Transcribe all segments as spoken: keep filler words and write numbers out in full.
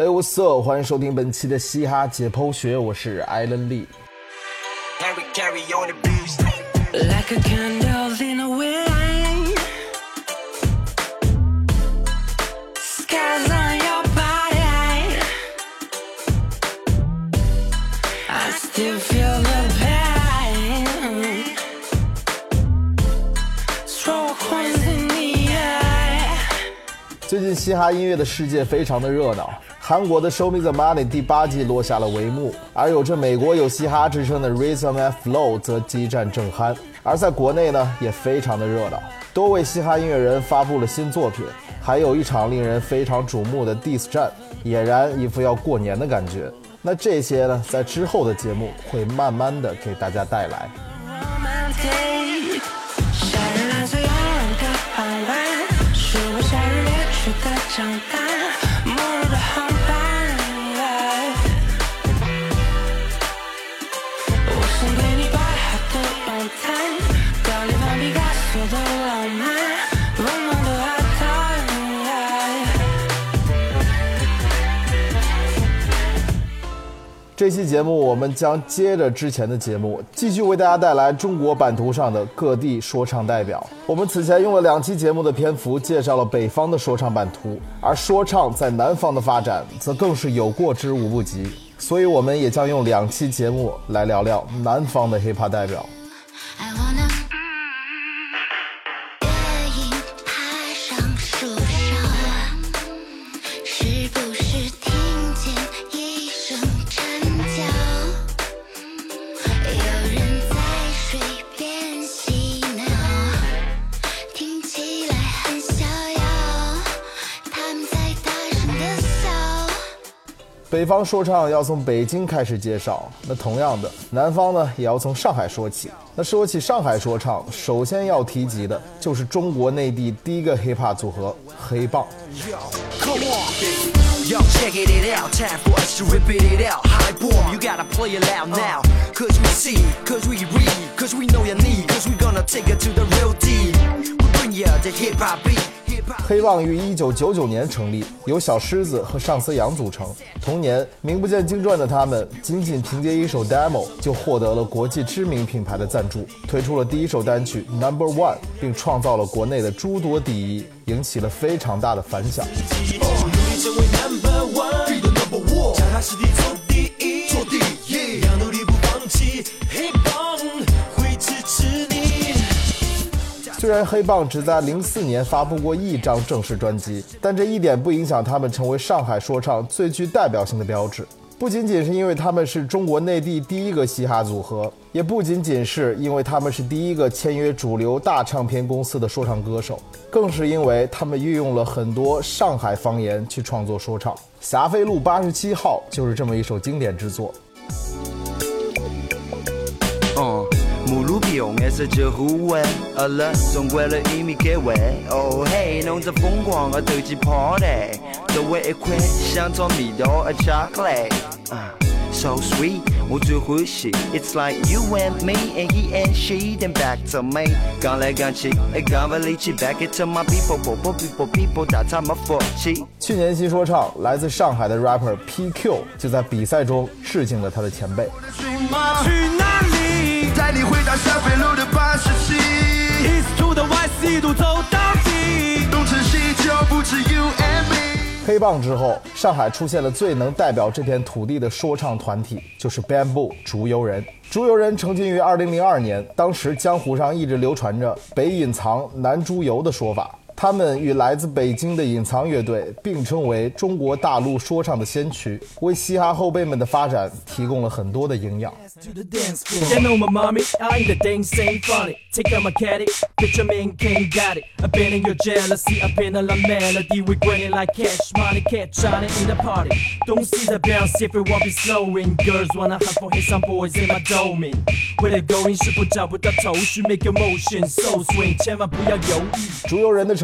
Hey what's up， 欢迎收听本期的嘻哈解剖学，我是艾伦利。 Like a candle in a wind, skies on your body, I still feel the pain, stroke winds in the air。 最近嘻哈音乐的世界非常的热闹，韩国的 Show Me the Money 第八季落下了帷幕，而有着美国有嘻哈之称的 Rhythm and Flow 则激战正酣。而在国内呢，也非常的热闹，多位嘻哈音乐人发布了新作品，还有一场令人非常瞩目的 diss 战，俨然一副要过年的感觉。那这些呢，在之后的节目会慢慢的给大家带来。这期节目我们将接着之前的节目，继续为大家带来中国版图上的各地说唱代表。我们此前用了两期节目的篇幅介绍了北方的说唱版图，而说唱在南方的发展则更是有过之无不及，所以我们也将用两期节目来聊聊南方的 hiphop 代表。北方说唱要从北京开始介绍，那同样的，南方呢也要从上海说起。那说起上海说唱，首先要提及的就是中国内地第一个 hiphop 组合黑棒。Yo, check it out, time for us to rip it out. High boom, you gotta play it loud now. Cause we see, cause we read, cause we know your need, cause we gonna take it to the real deep. We bring you the hip-hop beat.黑棒于一九九九年成立，由小狮子和上司阳组成。同年，名不见经传的他们仅仅凭借一首 demo 就获得了国际知名品牌的赞助，推出了第一首单曲 Number One， 并创造了国内的诸多第一，引起了非常大的反响。虽然黑棒只在零四年发布过一张正式专辑，但这一点不影响他们成为上海说唱最具代表性的标志。不仅仅是因为他们是中国内地第一个嘻哈组合，也不仅仅是因为他们是第一个签约主流大唱片公司的说唱歌手，更是因为他们运用了很多上海方言去创作说唱。霞飞路八十七号就是这么一首经典之作。 嗯目录笔用的是这互为而了中国的一米给位哦嘿弄着疯狂的斗鸡 party 周围一块像做蜜豆的巧克力 so sweet 我最欢喜 it's like you and me and he and she then back to me 刚来刚去刚把力气 back it to my people people people people 打他们福气。 去年新说唱来自上海的 rapper P Q 就在比赛中致敬了他的前辈。 去哪里带你回到霞飞路的八十七 East to the West 一路走到底东成西就不止 you and me。 黑棒之后，上海出现了最能代表这片土地的说唱团体，就是 Bamboo 竹游人。竹游人成军于二零零二年，当时江湖上一直流传着北隐藏南猪油的说法。他们与来自北京的隐藏乐队并称为中国大陆说唱的先驱，为嘻哈后辈们的发展提供了很多的营养。 They know my mommy, I ain't the thing, same funny. Take out my caddy, picture me and King got it. I've been in your jealousy, I've been in la melody. We grinning like cash money, catch on it in the party. Don't see the bounce if it won't be slowing. Girls wanna hunt for hit some boys in my domain. Where they going 是不找不到头绪 ，make your motion so swing， 千万不要犹豫。 竹游人的成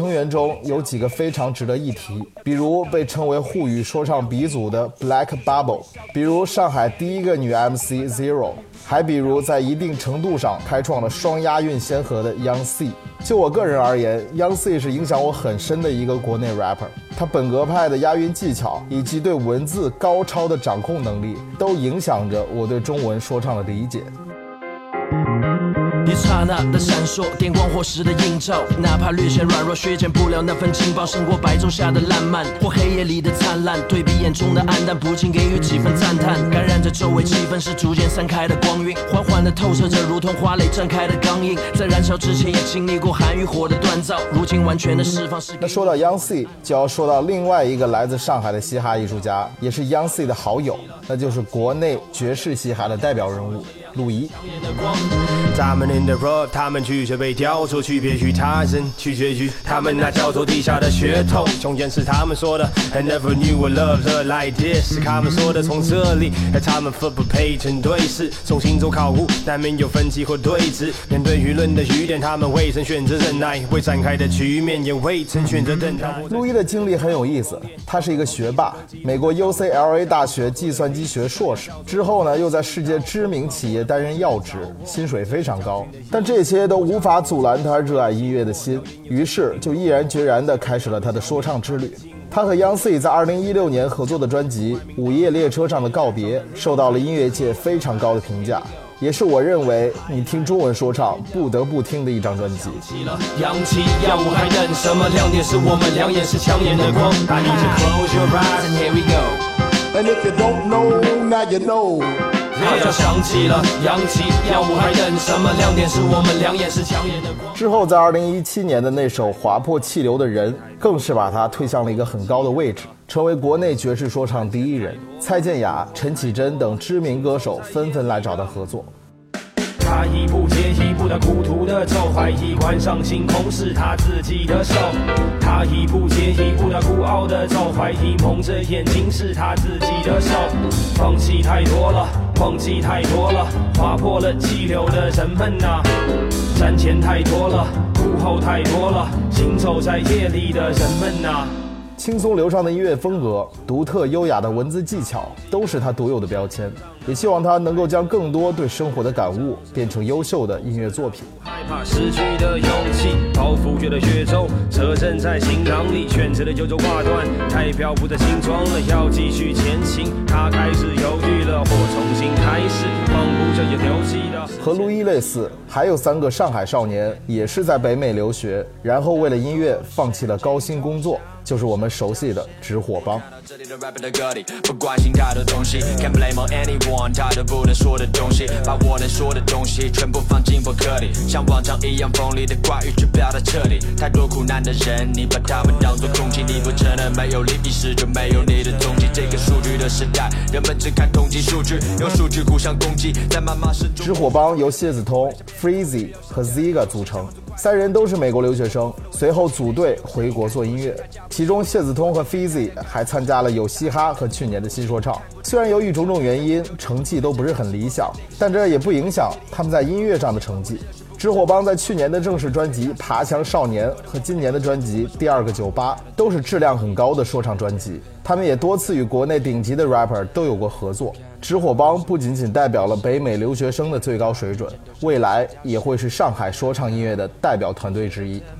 成员中有几个非常值得一提，比如被称为沪语说唱鼻祖的 Black Bubble， 比如上海第一个女 M C Zero， 还比如在一定程度上开创了双押韵先河的 Young C。 就我个人而言， Young C 是影响我很深的一个国内 rapper， 他本格派的押韵技巧以及对文字高超的掌控能力都影响着我对中文说唱的理解。 一刹那的闪烁，电光火石的映照，哪怕略显软弱，削减不了那份劲爆，胜过白昼下的烂漫或黑夜里的灿烂。对比眼中的暗淡，不禁给予几分赞叹，感染着周围气氛，是逐渐散开的光晕，缓缓地透射着，如同花蕾绽开的钢印。在燃烧之前，也经历过寒与火的锻造，如今完全的释放是。 那说到 Young C， 就要说到另外一个来自上海的嘻哈艺术家，也是 Young C 的好友，那就是国内爵士嘻哈的代表人物陆怡。 他们 in the road， 他们拒绝被雕琢，区别于他人，取决于他们那叫做地下的血统。中间是他们说的 I never knew a love like this， 是他们说的从这里，而他们分不配成对视，从星座考古难免有分歧或对峙。面对舆论的雨点，他们未曾选择忍耐，未展开的局面也未曾选择等待。 陆一的经历很有意思，他是一个学霸，美国 U C L A 大学计算机学硕士，之后呢又在世界知名企业担任要职，薪水非常高，但这些都无法阻拦他热爱音乐的心，于是就毅然决然地开始了他的说唱之旅。他和 Young C 在二零一六年合作的专辑《午夜列车上的告别》受到了音乐界非常高的评价，也是我认为你听中文说唱不得不听的一张专辑。 扬起耀武还等什么？亮点是我们两眼是抢眼的光。I need to close your eyes and here we go. And if you don't know, now you know. 号角响起了，扬起耀武还等什么？亮点是我们两眼是抢眼的光。 之后在二零一七年的那首划破气流的人，更是把他推向了一个很高的位置，成为国内爵士说唱第一人。蔡健雅、陈绮贞等知名歌手纷纷来找他合作。 他一步接一步的苦途的走，怀疑关上星空是他自己的手。他一步接一步的孤傲的走，怀疑蒙着眼睛是他自己的手。放弃太多了，忘记太多了，划破了气流的人们啊，瞻前太多了，苦后太多了，行走在夜里的人们啊。 轻松流畅的音乐风格，独特优雅的文字技巧，都是他独有的标签。也希望他能够将更多对生活的感悟变成优秀的音乐作品。 害怕失去的勇气，包袱觉得越重，责任在心膛里，选择的悠悠挂断，代表不再轻装了，要继续前行。他开始犹豫了，或重新开始，忘不着也留记的。 和陆一类似，还有三个上海少年也是在北美留学，然后为了音乐放弃了高薪工作，就是我们熟悉的直火帮。 这里的 rapper 的歌里不关心太多东西 Can't blame on anyone 太多不能说的东西把我能说的东西全部放进博客里像往常一样锋利的话语去表达彻底太多苦难的人你把他们当作空气你不承认没有利益时就没有你的踪迹这个数据的时代人们只看统计数据用数据互相攻击在谩骂声中直火帮由谢子通 Freezy 和 Ziga 组成三人都是美国留学生随后组队回国做音乐其中谢子通和 Freezy 还参加了有嘻哈和去年的新说唱虽然由于种种原因成绩都不是很理想但这也不影响他们在音乐上的成绩直火帮在去年的正式专辑《爬墙少年》和今年的专辑《第二个酒吧》都是质量很高的说唱专辑。他们也多次与国内顶级的 rapper 都有过合作。直火帮不仅仅代表了北美留学生的最高水准，未来也会是上海说唱音乐的代表团队之一。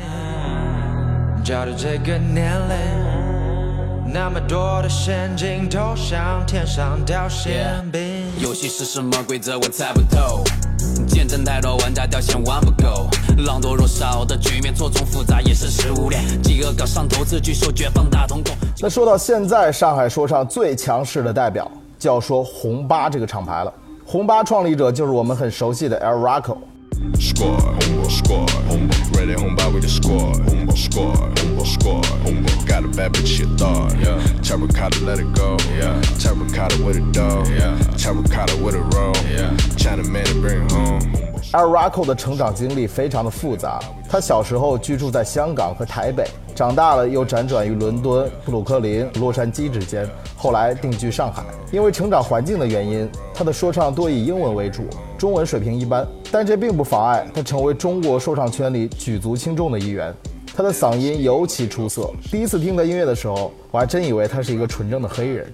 照着这个年龄，那么多的陷阱投向天上掉馅饼。 游戏是什么规则我猜不透。见证太多玩家掉线玩不够，狼多肉少的局面错综复杂也是食物链，饥饿搞上头自据手绝放大瞳孔。 那说到现在上海说唱最强势的代表，就要说红八这个厂牌了。红八创立者就是我们很熟悉的 El Rocco。Squad, hombo, squad, hombo, ready homba with the squad, hombo, squad, hombo, squad, hombo, got a bad bitch you thought, yeah, terracotta let it go, yeah, terracotta with a dog, yeah, terracotta with a roll, yeah, China man to bring home.El Rocco 的成长经历非常的复杂，他小时候居住在香港和台北，长大了又辗转于伦敦、布鲁克林、洛杉矶之间，后来定居上海。因为成长环境的原因，他的说唱多以英文为主，中文水平一般，但这并不妨碍他成为中国说唱圈里举足轻重的一员。 他的嗓音尤其出色。第一次听他音乐的时候，我还真以为他是一个纯正的黑人。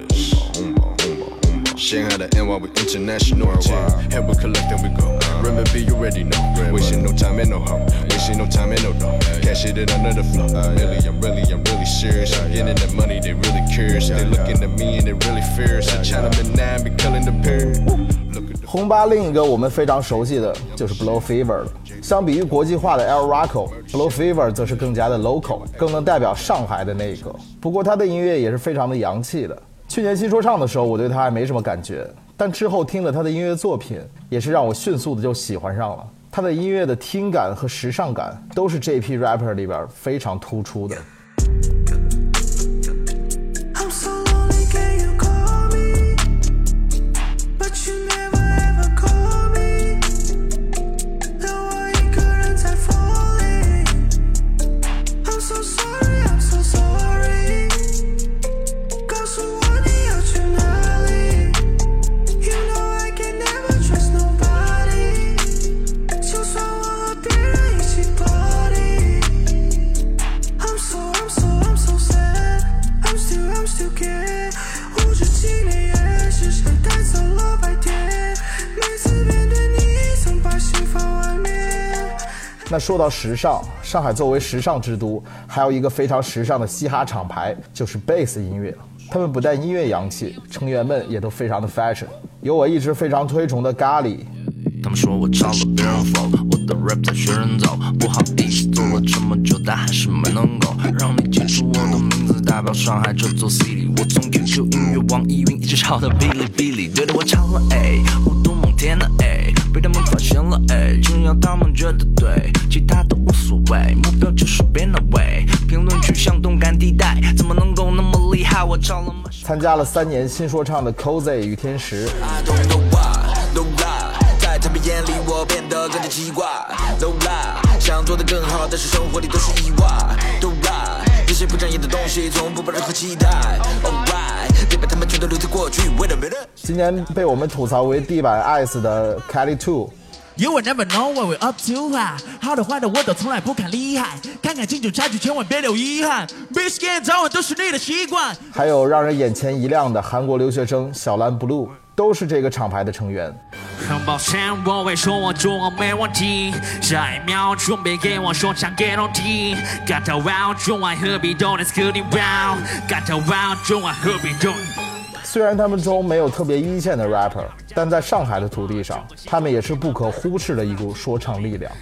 Shanghai to N Y, we international. Help we collecting, we go. Remember, you already know. Wasting no time and no hoe. Wasting no time and no dough. Cash it under the flow. Really, I'm really, I'm really serious. I'm getting that money, they really curious. They looking at me and they really fierce. A Chinaman now be killing the pair. 红巴另一个我们非常熟悉的就是 Blow Fever 了。相比于国际化的 El Rocko，Blow Fever 则是更加的 local， 更能代表上海的那一个。不过他的音乐也是非常的洋气的。去年新说唱的时候，我对他还没什么感觉，但之后听了他的音乐作品，也是让我迅速的就喜欢上了。他的音乐的听感和时尚感都是这批 rapper 里边非常突出的。那说到时尚，上海作为时尚之都，还有一个非常时尚的嘻哈厂牌，就是 Bass 音乐。他们不但音乐洋气，成员们也都非常的 fashion。有我一直非常推崇的咖喱。 他们说我抄了别人 flow， 我的 rap 在学人走，不好意思，做了这么久，但还是没能够让你记住我的名字，代表上海这座 city。我从 Q Q 音乐、网易云一直抄到哔哩哔哩，对的我抄了 A， 互动猛天的 A， 被他们发现了 A， 只要他们觉得对，其他都无所谓，目标就是变那位。评论区像动感地带，怎么能够那么厉害？我抄了。 参加了三年新说唱的 Cozy 与天时。 在他们眼里我变得更加奇怪 No lie 想做得更好但是生活里都是意外 No lie 那些不专业的东西从不抱任何期待 Alright 别把他们全都留在过去 Wait a minute 今年被我们吐槽为地板 ice 的 Kelly Two You will never know what we're up to 啊，好的坏的我都从来不看厉害，看看清楚差距，千万别留遗憾。Be scared 早晚都是你的习惯。 还有让人眼前一亮的韩国留学生小蓝 Blue， 都是这个厂牌的成员。 很抱歉，我会说我做我没问题，下一秒准备给我说唱 guarantee， 感到 wow 中外何必都 let's get it wow， 感到 wow 中外何必都。 虽然他们中没有特别一线的 rapper， 但在上海的土地上，他们也是不可忽视的一股说唱力量。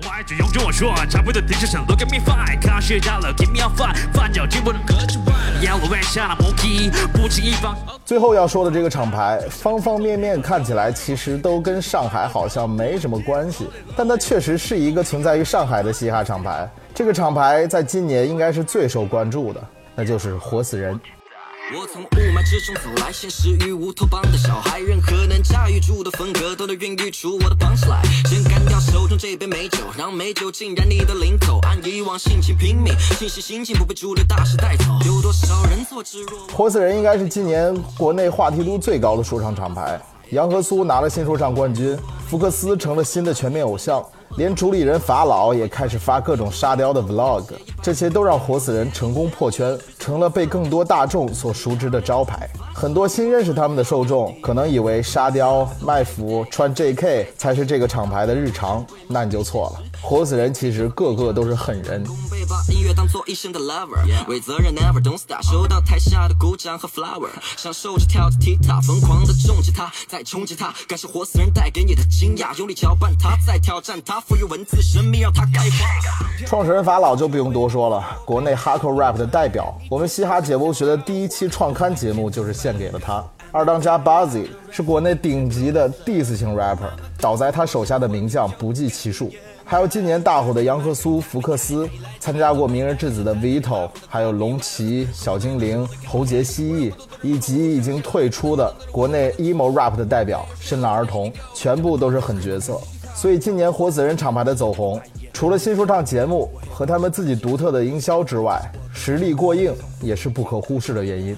最后要说的这个厂牌，方方面面看起来其实都跟上海好像没什么关系，但它确实是一个存在于上海的嘻哈厂牌。这个厂牌在今年应该是最受关注的，那就是活死人。 我从雾霾之中走来，现实与乌托邦的小孩，任何能驾驭住的风格都能孕育出我的 punchline。先干掉手中这杯美酒，让美酒浸染你的领口，按以往性情拼命，信息心境不被主流大势带走。有多少人做之若活死人应该是今年国内话题度最高的说唱厂牌。杨和苏拿了新说唱冠军，福克斯成了新的全面偶像，连主理人法老也开始发各种沙雕的 vlog， 这些都让活死人成功破圈，成了被更多大众所熟知的招牌。很多新认识他们的受众可能以为沙雕、卖腐、穿 J K 才是这个厂牌的日常，那你就错了。活死人其实个个都是狠人。 把音乐当作一生的 lover， 为责任 never don't stop， 收到台下的鼓掌和 flower， 享受着跳着踢踏，疯狂的重击他，再冲击他，感受活死人带给你的惊讶，用力搅拌他，再挑战他，赋予文字神秘，让他开花。 创始人法老就不用多说了，国内 hardcore rap 的代表，我们嘻哈解剖学的第一期创刊节目就是献给了他。二当家 Buzzy 是国内顶级的 diss 型 rapper， 倒在他手下的名将不计其数。还有今年大火的杨和苏、福克斯，参加过明日之子的 Vito， 还有龙骑、小精灵、侯杰蜥蜴，以及已经退出的国内 emo rap 的代表深蓝儿童，全部都是狠角色。所以今年活死人厂牌的走红，除了新说唱节目和他们自己独特的营销之外，实力过硬也是不可忽视的原因。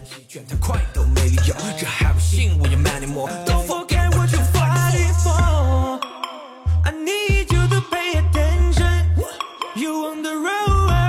I need you to pay attention. You on the road.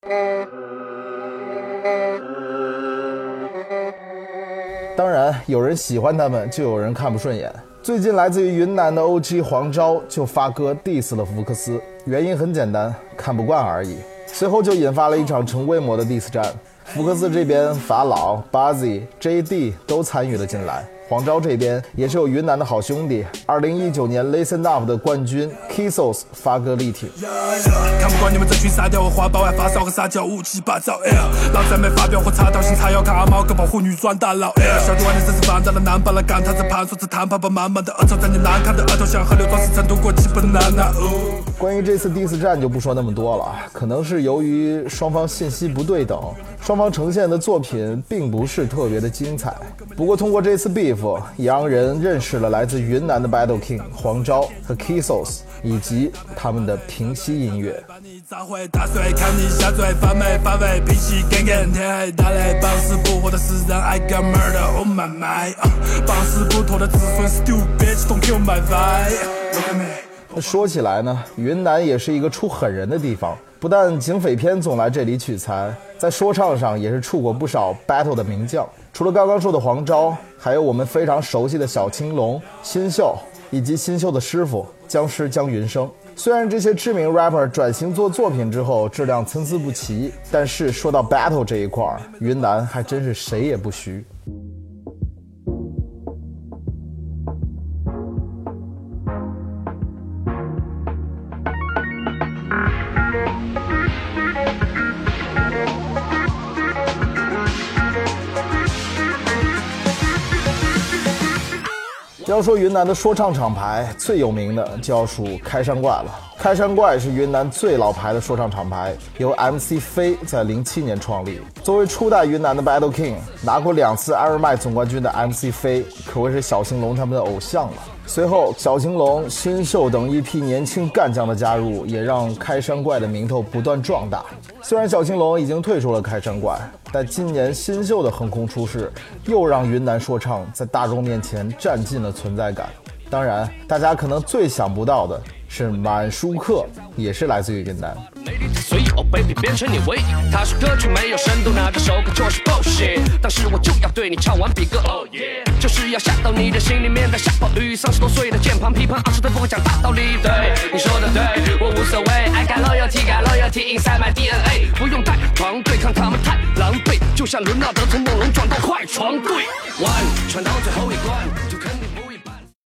当然，有人喜欢他们，就有人看不顺眼。最近来自于云南的 O G 黄钊就发歌 diss 了福克斯，原因很简单，看不惯而已。随后就引发了一场成规模的 diss 战，福克斯这边法老、Bazzi、J D 都参与了进来。黄钊这边也是有云南的好兄弟，二零一九年 Listen Up 的冠军 Kissos 发歌力挺。 看不惯你们这群沙雕和花苞，爱发烧和撒娇乌七八糟。老子没发飙或插刀，新茶要看阿猫跟保护女装大佬。小弟玩的真是放大了难把了干，他在盘说是谈判吧，满满的恶臭在你难看的额头像河流装饰成度过基本难拿。 关于这次 diss 战就不说那么多了，可能是由于双方信息不对等，双方呈现的作品并不是特别的精彩。不过通过这次 beef， 也让人认识了来自云南的 Battle King 黄钊和 Kissos 以及他们的平息音乐。 打碎看你下坠发霉发尾脾气干干天黑打雷绑死不活的是让 I got murder oh my my 绑死不脱的子孙 stupid don't kill my vibe look at me。 说起来呢，云南也是一个出狠人的地方，不但警匪片总来这里取材，在说唱上也是出过不少 battle 的名将。除了刚刚说的黄钊，还有我们非常熟悉的小青龙、新秀，以及新秀的师傅僵尸姜云升。虽然这些知名 rapper 转型做作品之后质量参差不齐，但是说到 battle 这一块，云南还真是谁也不虚。要说云南的说唱厂牌，最有名的就要数开山怪了。开山怪是云南最老牌的说唱厂牌，由 M C 飞在零七年创立。作为初代云南的 Battle King， 拿过两次艾尔麦总冠军的 M C 飞，可谓是小青龙他们的偶像了。随后，小青龙、新秀等一批年轻干将的加入，也让开山怪的名头不断壮大。虽然小青龙已经退出了开山怪，但今年新秀的横空出世，又让云南说唱在大众面前占尽了存在感。当然，大家可能最想不到的是满舒克，也是来自于云南。 所以哦 baby 变成你唯一，他说歌曲没有深度，那这首歌就是 bullshit， 当时我就要对你唱完比歌 oh yeah， 就是要下到你的心里面的下暴雨。三十多岁的键盘批判，二十岁不会讲大道理。对，你说的对，我无所谓。I got loyalty, got loyalty inside my D N A， 不用带床对抗他们太狼狈，就像伦纳德从梦龙转到快船队。One 传到最后一关，就肯定不一般。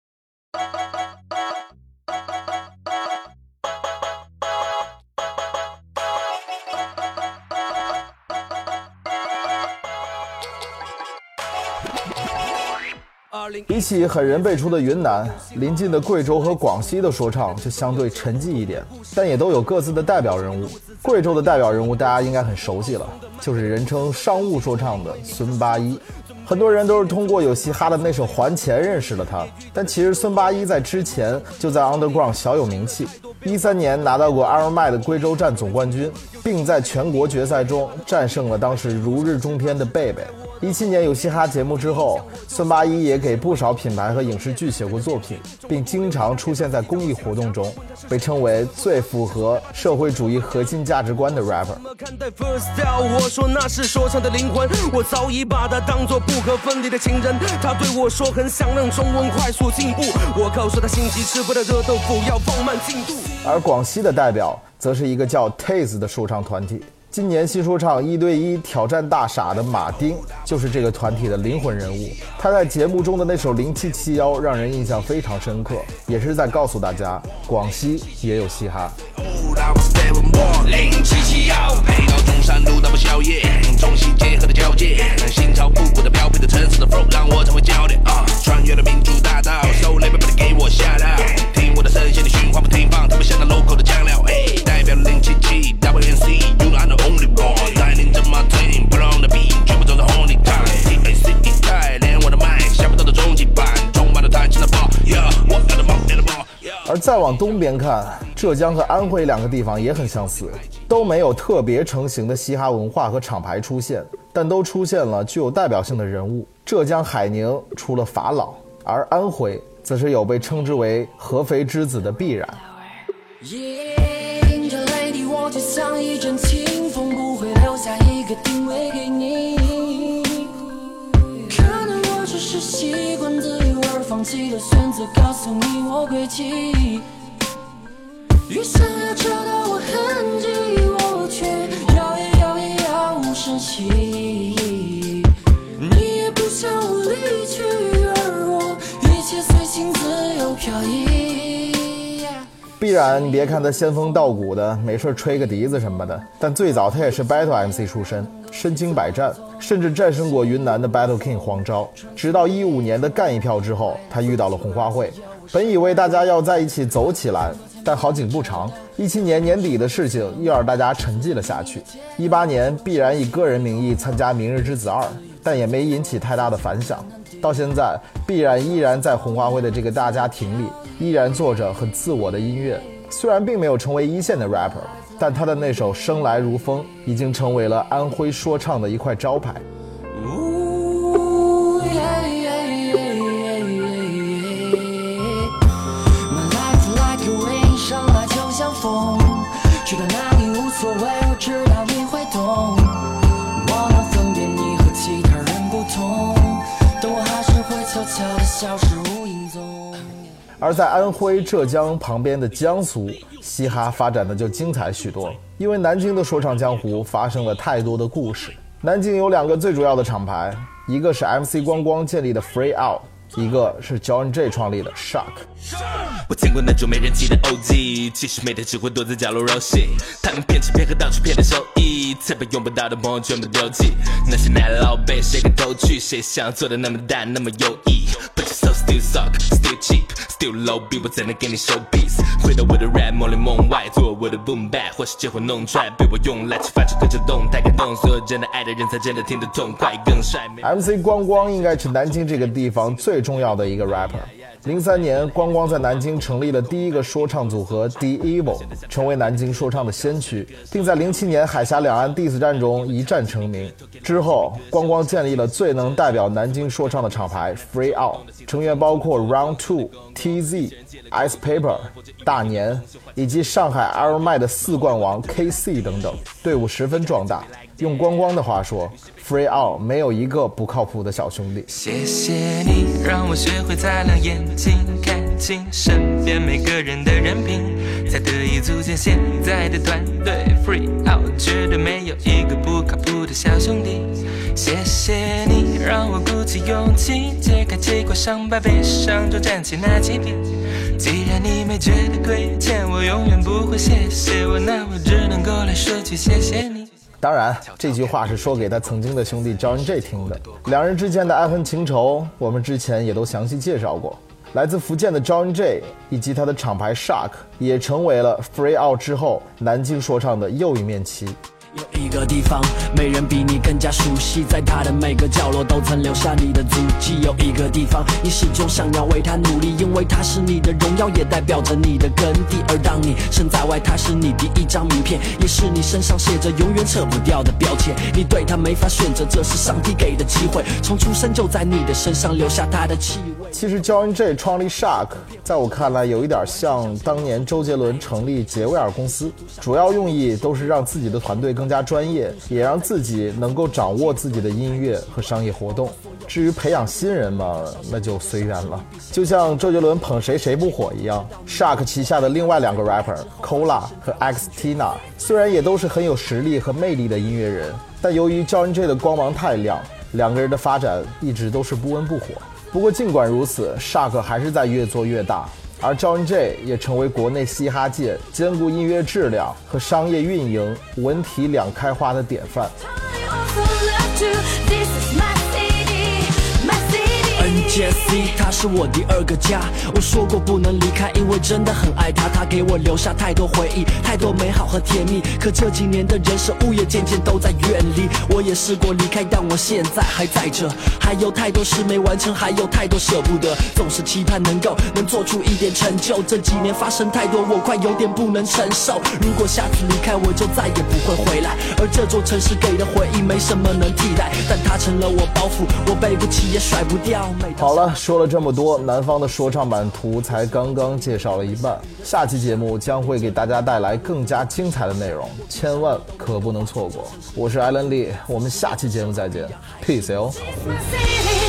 比起狠人辈出的云南，临近的贵州和广西的说唱就相对沉寂一点，但也都有各自的代表人物。贵州的代表人物大家应该很熟悉了，就是人称商务说唱的孙八一。很多人都是通过有嘻哈的那首《还钱》认识了他，但其实孙八一在之前就在 Underground 小有名气。一三年拿到过阿尔麦的贵州站总冠军，并在全国决赛中战胜了当时如日中天的贝贝。一七年有嘻哈节目之后，孙八一也给不少品牌和影视剧写过作品，并经常出现在公益活动中，被称为最符合社会主义核心价值观的 rapper。 看待 first style， 我说那是说唱的灵魂，我早已把它当作不可分离的情人。他对我说很想让中文快速进步，我告诉他心急吃不得热豆腐，要放慢进度。 而广西的代表则是一个叫 Taze 的说唱团体。今年新说唱一对一挑战大傻的马丁就是这个团体的灵魂人物。他在节目中的那首零七七一让人印象非常深刻，也是在告诉大家广西也有嘻哈。 零七七一配到中山路大不宵夜，中西结合的交界，心潮复古的标配的城市的 flow 让我成为焦点啊！穿越了民主大道 ，so label 不得给我下到，听我的声线的循环不停放，特别像那 local 的酱料，哎，代表零七七 W N C。You know I'm the only one， 带领着 my team， 不让的 beat， 全部都是 only time。T A C E 带连我的麦，想不到的终极版，充满了弹性的 ball，yeah， 我的 ball， 我的 ball。 而再往东边看，浙江和安徽两个地方也很相似，都没有特别成型的嘻哈文化和厂牌出现，但都出现了具有代表性的人物。浙江海宁出了法老，而安徽则是有被称之为合肥之子的必然。 迎着雷霆，我就像一阵清风。 个定位给你。可能我只是习惯自由而放弃了选择，告诉你我轨迹。越想要找到我痕迹，我却摇也摇也摇无声息。你也不想我离去，而我一切随心自由飘逸。 必然你别看他仙风道骨的，没事吹个笛子什么的，但最早他也是 Battle M C 出身，身经百战，甚至战胜过云南的 Battle King 黄钊。直到一五年的干一票之后，他遇到了红花会，本以为大家要在一起走起来，但好景不长，一七年年底的事情又让大家沉寂了下去。一八年必然以个人名义参加《明日之子二》，但也没引起太大的反响。到现在，必然依然在红花会的这个大家庭里，依然做着很自我的音乐。虽然并没有成为一线的 rapper， 但他的那首《生来如风》已经成为了安徽说唱的一块招牌。 去到哪里无所谓，我知道你会懂。我能分辨你和其他人不同，但我还是会悄悄地消失无影踪。 而在安徽、浙江旁边的江苏，嘻哈发展的就精彩许多。因为南京的说唱江湖发生了太多的故事。南京有两个最主要的厂牌，一个是 M C 光光建立的 Free Out， 一个是 John J 创立的 Shock。 我见过那种没人气的 O G， 其实每天只会躲在角落揉戏，他们骗吃骗喝到处骗的收益，才把用不到的朋友全部丢弃。那些奶老辈谁敢偷去，谁想做的那么大那么优异 ，But you so still suck, still cheap, still low， 逼我才能给你 show peace。回到我的 rap 梦里梦外，做我的 boom bap， 或是结婚弄出来，被我用来去发出各种动态感动，所有真的爱的人才真的听得痛快更帅。 M C 光光应该是南京这个地方最重要的一个 rapper。零三年，光光在南京成立了第一个说唱组合 The Evil， 成为南京说唱的先驱，并在零七年海峡两岸 diss 战中一战成名。之后，光光建立了最能代表南京说唱的厂牌 Free Out， 成员包括 Round Two、T Z、Ice Paper、大年以及上海 Iron Man 的四冠王 K C 等等，队伍十分壮大。用光光的话说 ，Free Out 没有一个不靠谱的小兄弟。 谢谢你让我学会擦亮眼睛，看清身边每个人的人品，才得以组建现在的团队。Free Out 绝对没有一个不靠谱的小兄弟。谢谢你让我鼓起勇气，揭开几块伤疤，悲伤中站起那几遍。既然你没觉得亏欠，我永远不会谢谢我，那我只能够来说句谢谢你。 当然，这句话是说给他曾经的兄弟 John J 听的。两人之间的爱恨情仇，我们之前也都详细介绍过。来自福建的 John J 以及他的厂牌 Shock 也成为了 Free Out 之后南京说唱的又一面旗。 有一个地方，没人比你更加熟悉，在它的每个角落都曾留下你的足迹。有一个地方，你始终想要为它努力，因为它是你的荣耀，也代表着你的根蒂。而当你身在外，它是你第一张名片，也是你身上写着永远撤不掉的标签。你对它没法选择，这是上帝给的机会，从出生就在你的身上留下它的气味。 其实 John J 创立 Shock 在我看来有一点像当年周杰伦成立杰威尔公司，主要用意都是让自己的团队更加专业，也让自己能够掌握自己的音乐和商业活动。至于培养新人嘛，那就随缘了。就像周杰伦捧谁谁不火一样， Shock 旗下的另外两个 rapper Cola 和 X Tina 虽然也都是很有实力和魅力的音乐人，但由于 John J 的光芒太亮，两个人的发展一直都是不温不火。不过尽管如此， Shock 还是在越做越大，而 John J 也成为国内嘻哈界兼顾音乐质量和商业运营文体两开花的典范。 N J C 他是我第二个家，我说过不能离开，因为真的很爱他，他给我留下太多回忆，太多美好和甜蜜。可这几年的人生物业渐渐都在远离，我也试过离开，但我现在还在这，还有太多事没完成，还有太多舍不得，总是期盼能够能做出一点成就。这几年发生太多，我快有点不能承受，如果下次离开我就再也不会回来，而这座城市给的回忆没什么能替代，但它成了我包袱，我背不起也甩不掉。 好好了，说了这么多，南方的说唱版图才刚刚介绍了一半，下期节目将会给大家带来更加精彩的内容，千万可不能错过。我是艾伦利，我们下期节目再见 ，peace 哟。